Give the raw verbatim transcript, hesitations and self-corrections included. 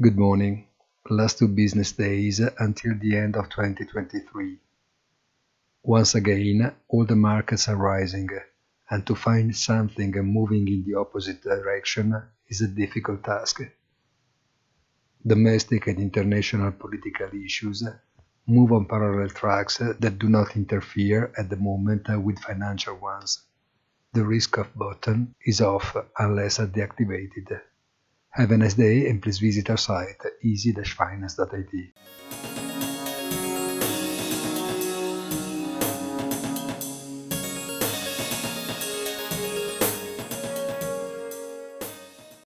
Good morning. Last two business days until the end of twenty twenty-three. Once again, all the markets are rising, and to find something moving in the opposite direction is a difficult task. Domestic and international political issues move on parallel tracks that do not interfere at the moment with financial ones. The risk of button is off unless deactivated. Have a nice day and please visit our site easy dash finance dot I T.